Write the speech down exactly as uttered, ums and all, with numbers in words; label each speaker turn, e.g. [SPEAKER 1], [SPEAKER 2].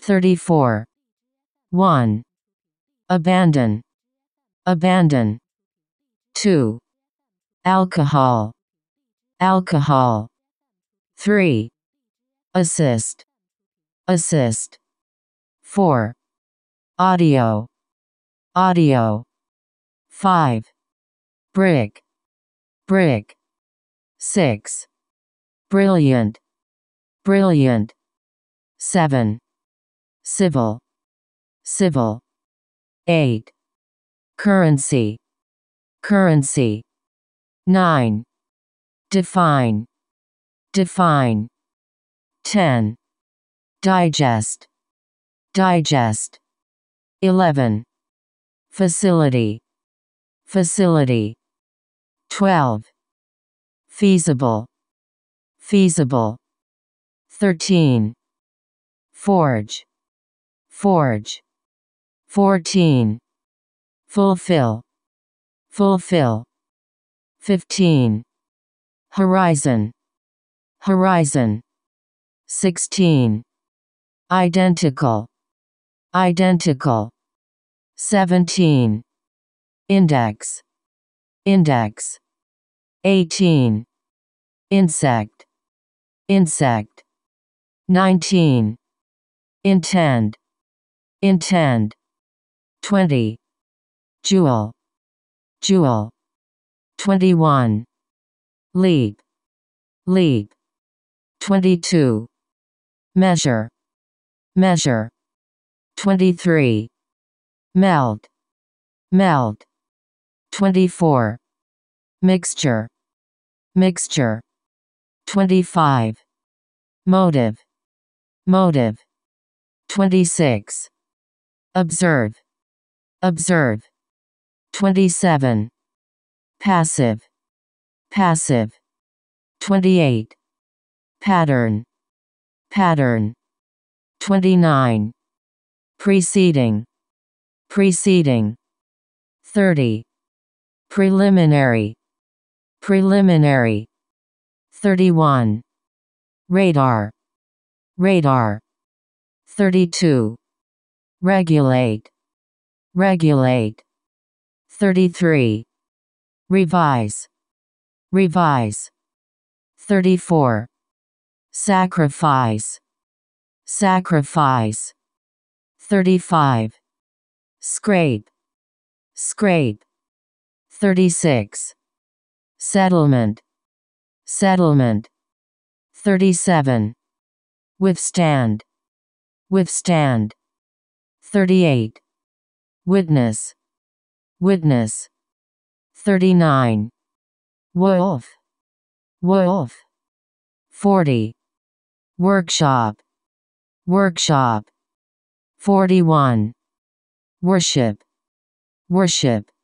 [SPEAKER 1] thirty-four. one. Abandon. Abandon. two. Alcohol. Alcohol. three. Assist. Assist. four. Audio. Audio. five. Brick. Brick. six. Brilliant. Brilliant. seven. Civil. Civil. eight. Currency. Currency. nine. Define. Define. ten. Digest. Digest. eleven. Facility. Facility. twelve. Feasible. Feasible. thirteen. Forge. Forge. fourteen. Fulfill. Fulfill. fifteen. Horizon. Horizon. sixteen. Identical. Identical. seventeen. Index. Index. eighteen. Insect. Insect. nineteen. Intend. Intend. twenty. Jewel. Jewel. twenty-one. Leap. Leap. twenty-two. Measure. Measure. twenty-three. Melt. Melt. twenty-four. Mixture. Mixture. twenty-five. Motive. Motive. twenty-six. Observe. Observe. twenty-seven. Passive. Passive. twenty-eight. Pattern. Pattern. twenty-nine. Preceding. Preceding. thirty. Preliminary. Preliminary. thirty-one. Radar. Radar. thirty-two. Regulate. Regulate. thirty-three. Revise. Revise. thirty-four. Sacrifice. Sacrifice. thirty-five. Scrape. Scrape. thirty-six. Settlement. Settlement. thirty-seven. Withstand. Withstand. thirty-eight. Witness. Witness. thirty-nine. Wolf. Wolf. forty. Workshop. Workshop. forty-one. Worship. Worship.